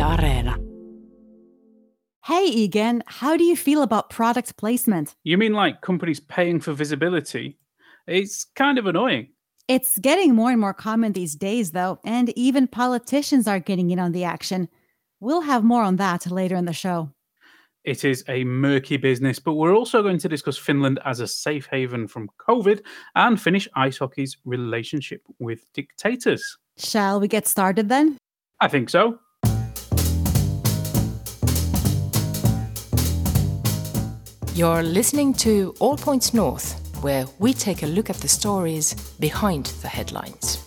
Areena. Hey, Egan, how do you feel about product placement? You mean like companies paying for visibility? It's kind of annoying. It's getting more and more common these days, though, and even politicians are getting in on the action. We'll have more on that later in the show. It is a murky business, but we're also going to discuss Finland as a safe haven from COVID and Finnish ice hockey's relationship with dictators. Shall we get started then? I think so. You're listening to All Points North, where we take a look at the stories behind the headlines.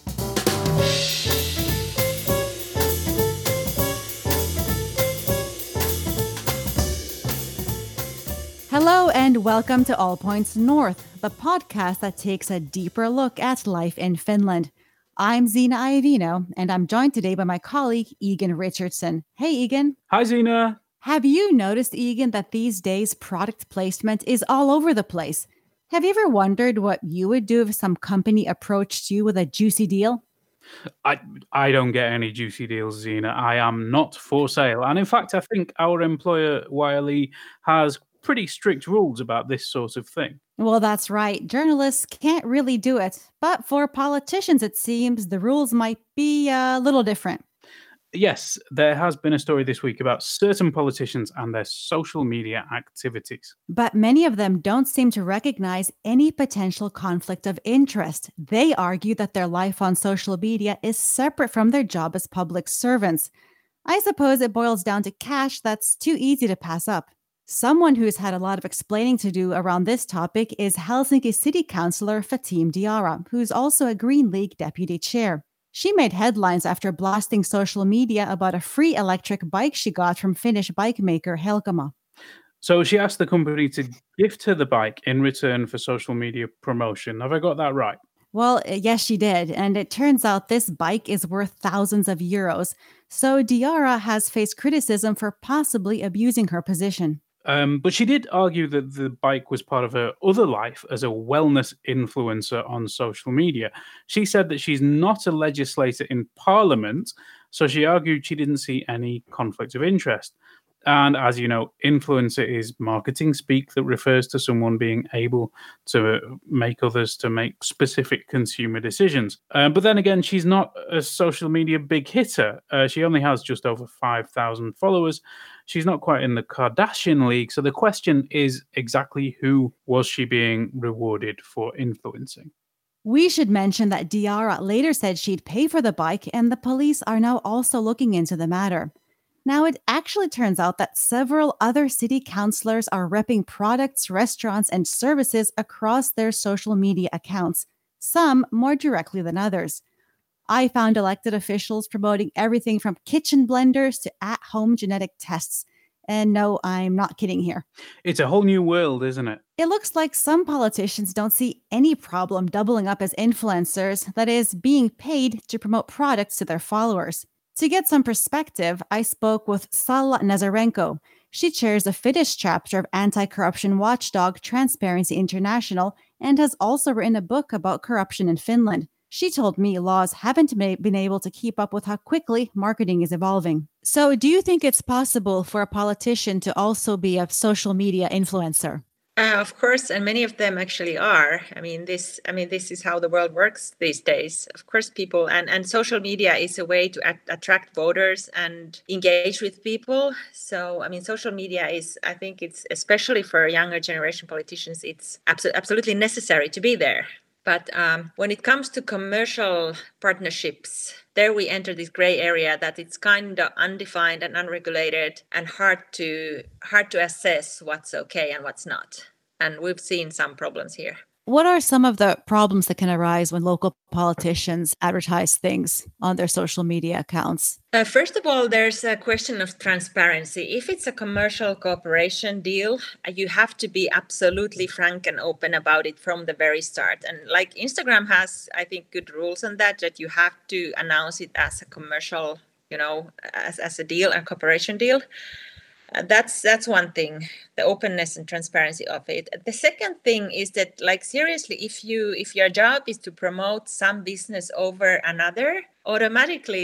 Hello and welcome to All Points North, the podcast that takes a deeper look at life in Finland. I'm Zena Iovino, and I'm joined today by my colleague, Egan Richardson. Hey, Egan. Hi, Zena. Have you noticed, Egan, that these days product placement is all over the place? Have you ever wondered what you would do if some company approached you with a juicy deal? I don't get any juicy deals, Zena. I am not for sale. And in fact, I think our employer, Wiley, has pretty strict rules about this sort of thing. Well, that's right. Journalists can't really do it. But for politicians, it seems the rules might be a little different. Yes, there has been a story this week about certain politicians and their social media activities. But many of them don't seem to recognize any potential conflict of interest. They argue that their life on social media is separate from their job as public servants. I suppose it boils down to cash that's too easy to pass up. Someone who's had a lot of explaining to do around this topic is Helsinki City Councillor Fatime Diarra, who's also a Green League deputy chair. She made headlines after blasting social media about a free electric bike she got from Finnish bike maker Helkama. So she asked the company to gift her the bike in return for social media promotion. Have I got that right? Well, yes, she did. And it turns out this bike is worth thousands of euros. So Diarra has faced criticism for possibly abusing her position. But she did argue that the bike was part of her other life as a wellness influencer on social media. She said that she's not a legislator in Parliament, so she argued she didn't see any conflict of interest. And as you know, influencer is marketing speak that refers to someone being able to make others to make specific consumer decisions. But then again, she's not a social media big hitter. She only has just over 5,000 followers. She's not quite in the Kardashian league. So the question is exactly who was she being rewarded for influencing? We should mention that Diarra later said she'd pay for the bike, and the police are now also looking into the matter. Now, it actually turns out that several other city councillors are repping products, restaurants, and services across their social media accounts, some more directly than others. I found elected officials promoting everything from kitchen blenders to at-home genetic tests. And no, I'm not kidding here. It's a whole new world, isn't it? It looks like some politicians don't see any problem doubling up as influencers, that is, being paid to promote products to their followers. To get some perspective, I spoke with Salla Nazarenko. She chairs the Finnish chapter of anti-corruption watchdog Transparency International and has also written a book about corruption in Finland. She told me laws haven't been able to keep up with how quickly marketing is evolving. So, do you think it's possible for a politician to also be a social media influencer? Of course, and many of them actually are. This is how the world works these days. Of course, people and social media is a way to attract voters and engage with people. So, social media is, I think it's especially for younger generation politicians, it's absolutely necessary to be there. But when it comes to commercial partnerships, there we enter this gray area that it's kind of undefined and unregulated and hard to assess what's okay and what's not. And we've seen some problems here. What are some of the problems that can arise when local politicians advertise things on their social media accounts? First of all, there's a question of transparency. If it's a commercial cooperation deal, you have to be absolutely frank and open about it from the very start. And like Instagram has, I think, good rules on that you have to announce it as a commercial, as a deal, a cooperation deal. That's one thing, the openness and transparency of it. The second thing is that, like, seriously, if your job is to promote some business over another, automatically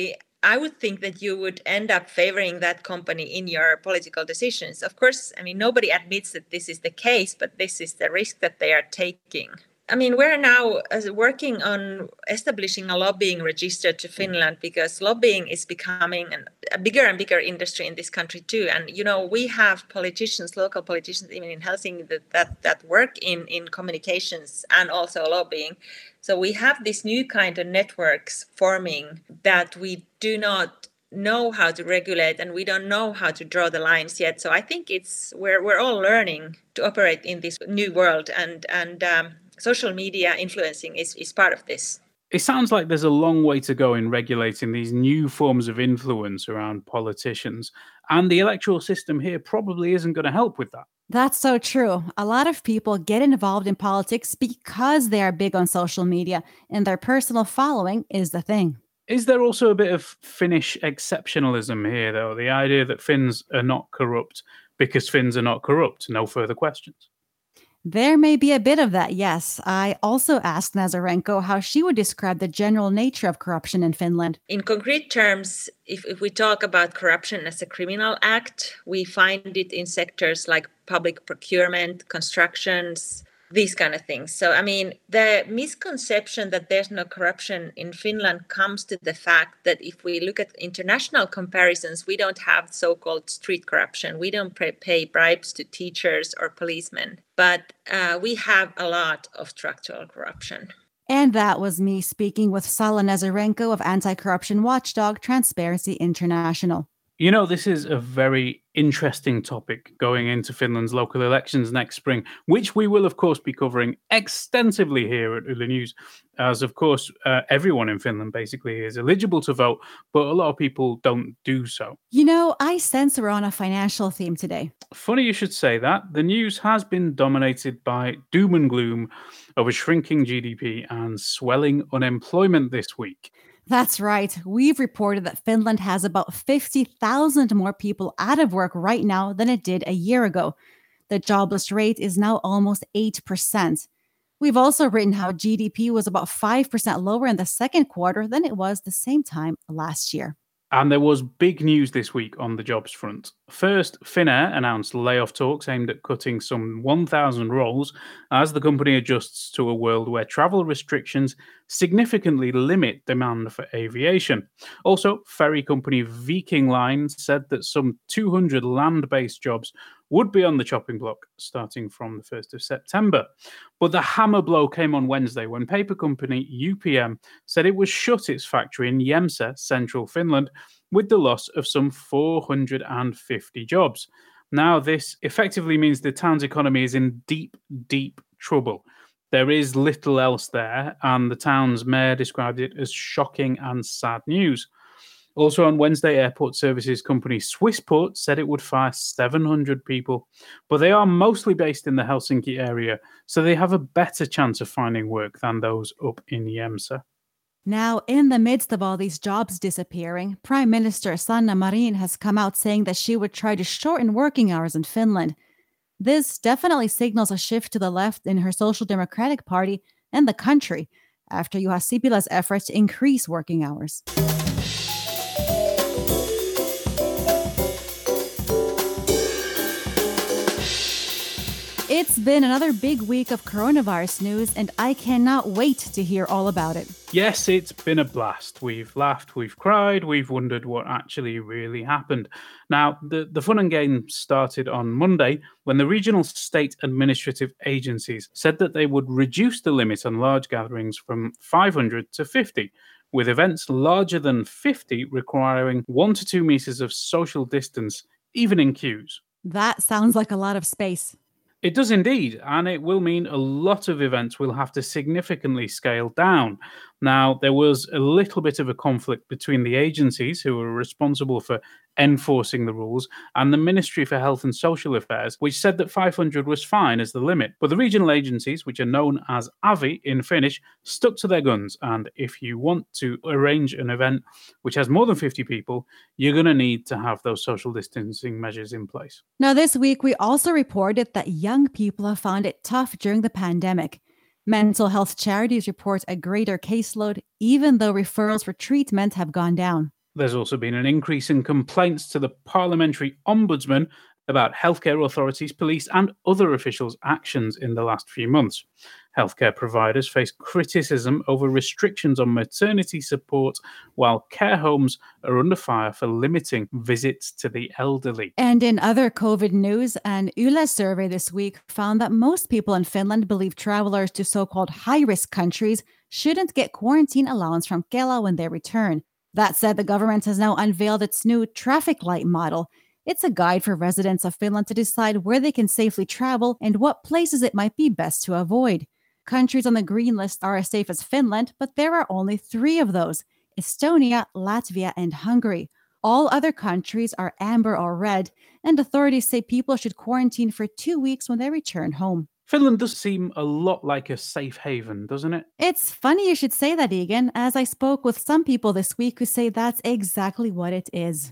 I would think that you would end up favoring that company in your political decisions. Of course, I mean, nobody admits that this is the case, but this is the risk that they are taking. I mean, we're now working on establishing a lobbying register to Finland because lobbying is becoming a bigger and bigger industry in this country too. And, we have politicians, local politicians, even in Helsinki, that work in communications and also lobbying. So we have this new kind of networks forming that we do not know how to regulate, and we don't know how to draw the lines yet. So I think we're all learning to operate in this new world, and social media influencing is part of this. It sounds like there's a long way to go in regulating these new forms of influence around politicians, and the electoral system here probably isn't going to help with that. That's so true. A lot of people get involved in politics because they are big on social media, and their personal following is the thing. Is there also a bit of Finnish exceptionalism here, though? The idea that Finns are not corrupt because Finns are not corrupt? No further questions. There may be a bit of that, yes. I also asked Nazarenko how she would describe the general nature of corruption in Finland. In concrete terms, if we talk about corruption as a criminal act, we find it in sectors like public procurement, constructions, these kind of things. So, I mean, the misconception that there's no corruption in Finland comes to the fact that if we look at international comparisons, we don't have so-called street corruption. We don't pay bribes to teachers or policemen, but we have a lot of structural corruption. And that was me speaking with Salla Nazarenko of anti-corruption watchdog Transparency International. This is a very interesting topic going into Finland's local elections next spring, which we will, of course, be covering extensively here at Yle News, as, of course, everyone in Finland basically is eligible to vote, but a lot of people don't do so. I sense we're on a financial theme today. Funny you should say that. The news has been dominated by doom and gloom of a shrinking GDP and swelling unemployment this week. That's right. We've reported that Finland has about 50,000 more people out of work right now than it did a year ago. The jobless rate is now almost 8%. We've also written how GDP was about 5% lower in the second quarter than it was the same time last year. And there was big news this week on the jobs front. First, Finnair announced layoff talks aimed at cutting some 1,000 roles as the company adjusts to a world where travel restrictions significantly limit demand for aviation. Also, ferry company Viking Line said that some 200 land-based jobs would be on the chopping block starting from the 1st of September. But the hammer blow came on Wednesday when paper company UPM said it would shut its factory in Jämsä, central Finland, with the loss of some 450 jobs. Now, this effectively means the town's economy is in deep, deep trouble. There is little else there, and the town's mayor described it as shocking and sad news. Also on Wednesday, airport services company Swissport said it would fire 700 people, but they are mostly based in the Helsinki area, so they have a better chance of finding work than those up in Jämsä. Now, in the midst of all these jobs disappearing, Prime Minister Sanna Marin has come out saying that she would try to shorten working hours in Finland. This definitely signals a shift to the left in her Social Democratic Party and the country after Juha Sipilä's efforts to increase working hours. It's been another big week of coronavirus news, and I cannot wait to hear all about it. Yes, it's been a blast. We've laughed, we've cried, we've wondered what actually really happened. Now, the fun and games started on Monday when the regional state administrative agencies said that they would reduce the limit on large gatherings from 500 to 50, with events larger than 50 requiring 1 to 2 meters of social distance, even in queues. That sounds like a lot of space. It does indeed, and it will mean a lot of events will have to significantly scale down. Now, there was a little bit of a conflict between the agencies who were responsible for enforcing the rules and the Ministry for Health and Social Affairs, which said that 500 was fine as the limit. But the regional agencies, which are known as AVI in Finnish, stuck to their guns. And if you want to arrange an event which has more than 50 people, you're going to need to have those social distancing measures in place. Now, this week, we also reported that young people have found it tough during the pandemic. Mental health charities report a greater caseload, even though referrals for treatment have gone down. There's also been an increase in complaints to the Parliamentary Ombudsman about healthcare authorities, police, and other officials' actions in the last few months. Healthcare providers face criticism over restrictions on maternity support, while care homes are under fire for limiting visits to the elderly. And in other COVID news, an Yle survey this week found that most people in Finland believe travelers to so-called high-risk countries shouldn't get quarantine allowance from Kela when they return. That said, the government has now unveiled its new traffic light model. It's a guide for residents of Finland to decide where they can safely travel and what places it might be best to avoid. Countries on the green list are as safe as Finland, but there are only 3 of those: Estonia, Latvia, and Hungary. All other countries are amber or red, and authorities say people should quarantine for 2 weeks when they return home. Finland does seem a lot like a safe haven, doesn't it? It's funny you should say that, Egan, as I spoke with some people this week who say that's exactly what it is.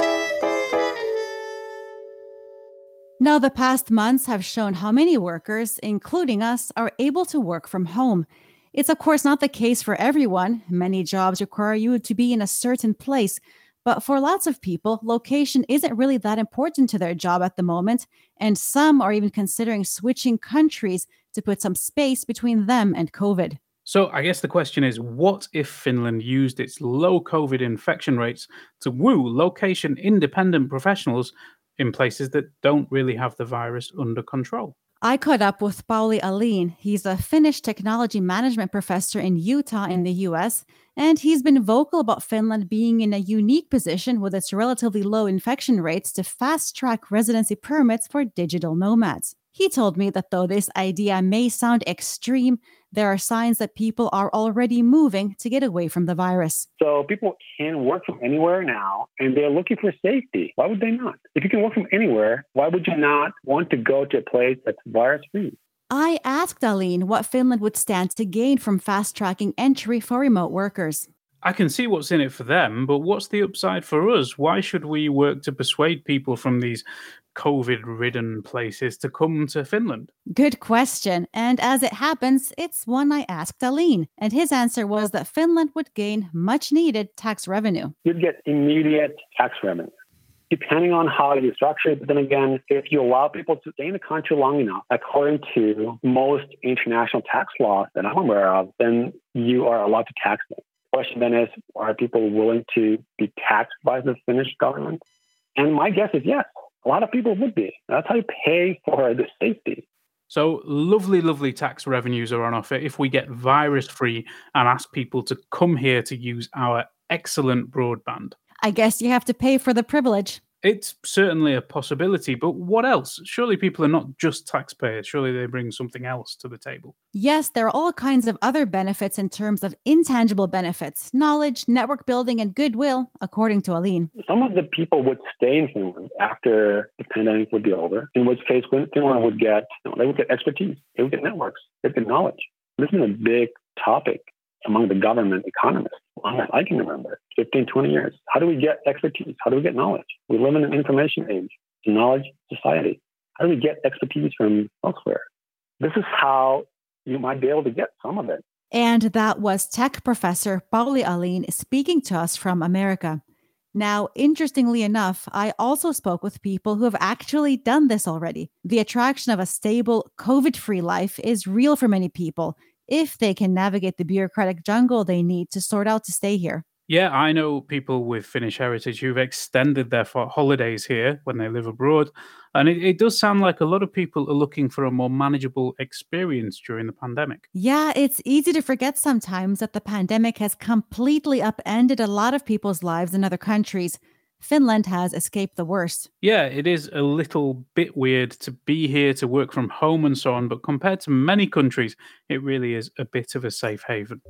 Now, the past months have shown how many workers, including us, are able to work from home. It's of course not the case for everyone. Many jobs require you to be in a certain place. But for lots of people, location isn't really that important to their job at the moment. And some are even considering switching countries to put some space between them and COVID. So I guess the question is, what if Finland used its low COVID infection rates to woo location-independent professionals in places that don't really have the virus under control? I caught up with Pauli Alin. He's a Finnish technology management professor in Utah in the US, and he's been vocal about Finland being in a unique position with its relatively low infection rates to fast-track residency permits for digital nomads. He told me that though this idea may sound extreme, there are signs that people are already moving to get away from the virus. So people can work from anywhere now, and they're looking for safety. Why would they not? If you can work from anywhere, why would you not want to go to a place that's virus-free? I asked Aline what Finland would stand to gain from fast-tracking entry for remote workers. I can see what's in it for them, but what's the upside for us? Why should we work to persuade people from these COVID-ridden places to come to Finland? Good question. And as it happens, it's one I asked Aline. And his answer was that Finland would gain much-needed tax revenue. You'd get immediate tax revenue, depending on how you structure it. But then again, if you allow people to stay in the country long enough, according to most international tax laws that I'm aware of, then you are allowed to tax them. The question then is, are people willing to be taxed by the Finnish government? And my guess is yes. A lot of people would be. That's how you pay for the safety. So lovely, lovely tax revenues are on offer if we get virus-free and ask people to come here to use our excellent broadband. I guess you have to pay for the privilege. It's certainly a possibility, but what else? Surely people are not just taxpayers. Surely they bring something else to the table. Yes, there are all kinds of other benefits in terms of intangible benefits, knowledge, network building, and goodwill, according to Aline. Some of the people would stay in Finland after the pandemic would be over, in which case Finland would get, they would get expertise, they would get networks, they would get knowledge. This is a big topic among the government economists. I can remember 15, 20 years. How do we get expertise? How do we get knowledge? We live in an information age, a knowledge society. How do we get expertise from elsewhere? This is how you might be able to get some of it. And that was tech professor Pauli Alin speaking to us from America. Now, interestingly enough, I also spoke with people who have actually done this already. The attraction of a stable, COVID-free life is real for many people, if they can navigate the bureaucratic jungle they need to sort out to stay here. Yeah, I know people with Finnish heritage who've extended their holidays here when they live abroad. And it does sound like a lot of people are looking for a more manageable experience during the pandemic. Yeah, it's easy to forget sometimes that the pandemic has completely upended a lot of people's lives in other countries. Finland has escaped the worst. Yeah, it is a little bit weird to be here, to work from home and so on, but compared to many countries, it really is a bit of a safe haven.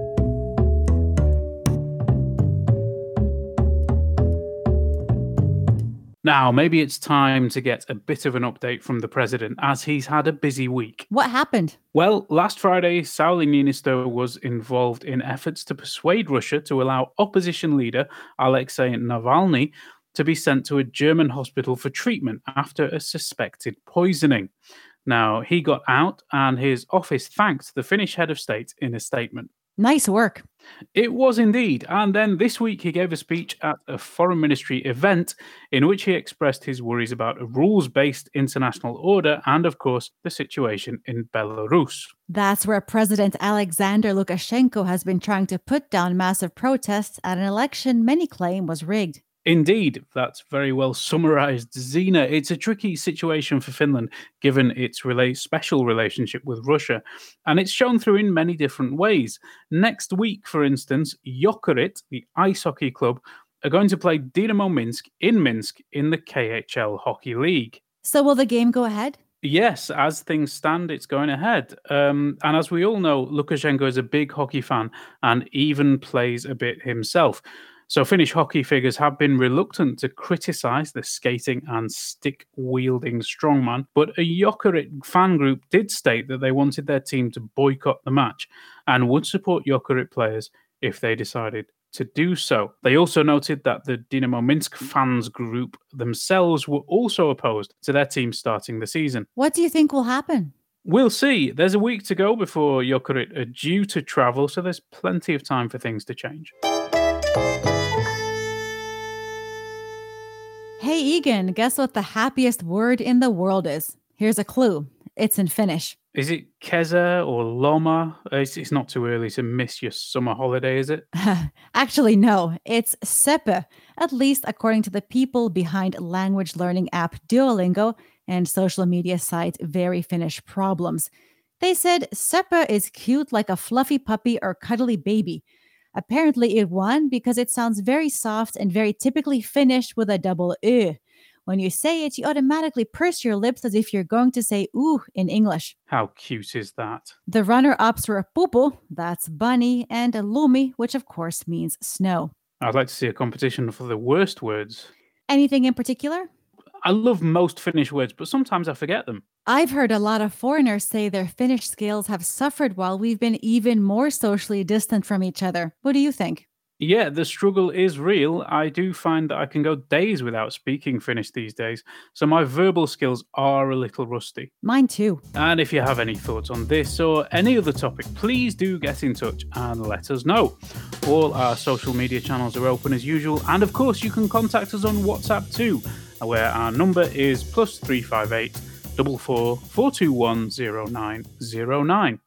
Now, maybe it's time to get a bit of an update from the president, as he's had a busy week. What happened? Well, last Friday, Sauli Niinistö was involved in efforts to persuade Russia to allow opposition leader Alexei Navalny to be sent to a German hospital for treatment after a suspected poisoning. Now, he got out and his office thanked the Finnish head of state in a statement. Nice work. It was indeed. And then this week he gave a speech at a foreign ministry event in which he expressed his worries about a rules-based international order and, of course, the situation in Belarus. That's where President Alexander Lukashenko has been trying to put down massive protests at an election many claim was rigged. Indeed, that's very well summarized, Zena. It's a tricky situation for Finland, given its special relationship with Russia, and it's shown through in many different ways. Next week, for instance, Jokerit, the ice hockey club, are going to play Dynamo Minsk in the KHL Hockey League. So will the game go ahead? Yes, as things stand, it's going ahead. And as we all know, Lukashenko is a big hockey fan and even plays a bit himself. So Finnish hockey figures have been reluctant to criticise the skating and stick-wielding strongman, but a Jokerit fan group did state that they wanted their team to boycott the match and would support Jokerit players if they decided to do so. They also noted that the Dynamo Minsk fans group themselves were also opposed to their team starting the season. What do you think will happen? We'll see. There's a week to go before Jokerit are due to travel, so there's plenty of time for things to change. Hey Egan, guess what the happiest word in the world is? Here's a clue. It's in Finnish. Is it kesä or loma? It's not too early to miss your summer holiday, is it? Actually, no. It's seppä, at least according to the people behind language learning app Duolingo and social media site Very Finnish Problems. They said seppä is cute like a fluffy puppy or cuddly baby. Apparently it won because it sounds very soft and very typically Finnish with a double ö. When you say it, you automatically purse your lips as if you're going to say ooh in English. How cute is that? The runner-ups were pupu, that's bunny, and lumi, which of course means snow. I'd like to see a competition for the worst words. Anything in particular? I love most Finnish words, but sometimes I forget them. I've heard a lot of foreigners say their Finnish skills have suffered while we've been even more socially distant from each other. What do you think? Yeah, the struggle is real. I do find that I can go days without speaking Finnish these days, so my verbal skills are a little rusty. Mine too. And if you have any thoughts on this or any other topic, please do get in touch and let us know. All our social media channels are open as usual, and of course you can contact us on WhatsApp too, where our number is +358 44 421 0909.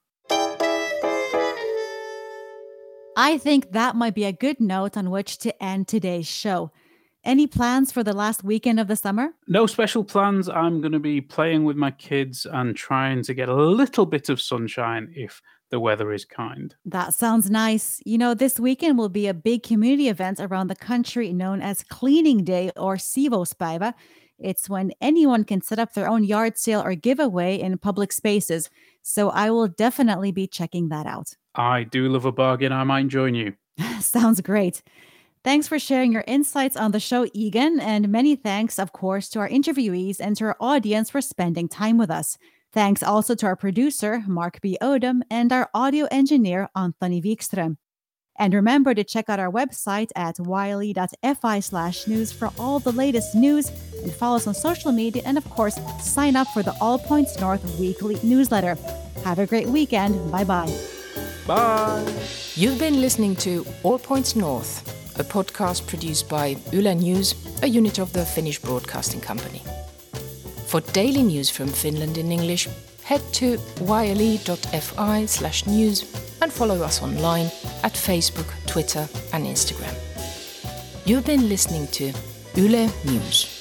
I think that might be a good note on which to end today's show. Any plans for the last weekend of the summer? No special plans. I'm going to be playing with my kids and trying to get a little bit of sunshine if the weather is kind. That sounds nice. You know, this weekend will be a big community event around the country known as Cleaning Day or Siivouspäivä. It's when anyone can set up their own yard sale or giveaway in public spaces. So I will definitely be checking that out. I do love a bargain. I might join you. Sounds great. Thanks for sharing your insights on the show, Egan, and many thanks, of course, to our interviewees and to our audience for spending time with us. Thanks also to our producer, Mark B. Odom, and our audio engineer, Anthony Wikström. And remember to check out our website at yle.fi/news for all the latest news, and follow us on social media, and of course, sign up for the All Points North weekly newsletter. Have a great weekend. Bye-bye. Bye. You've been listening to All Points North, a podcast produced by Yle News, a unit of the Finnish Broadcasting Company. For daily news from Finland in English, head to yle.fi/news and follow us online at Facebook, Twitter and Instagram. You've been listening to Yle News.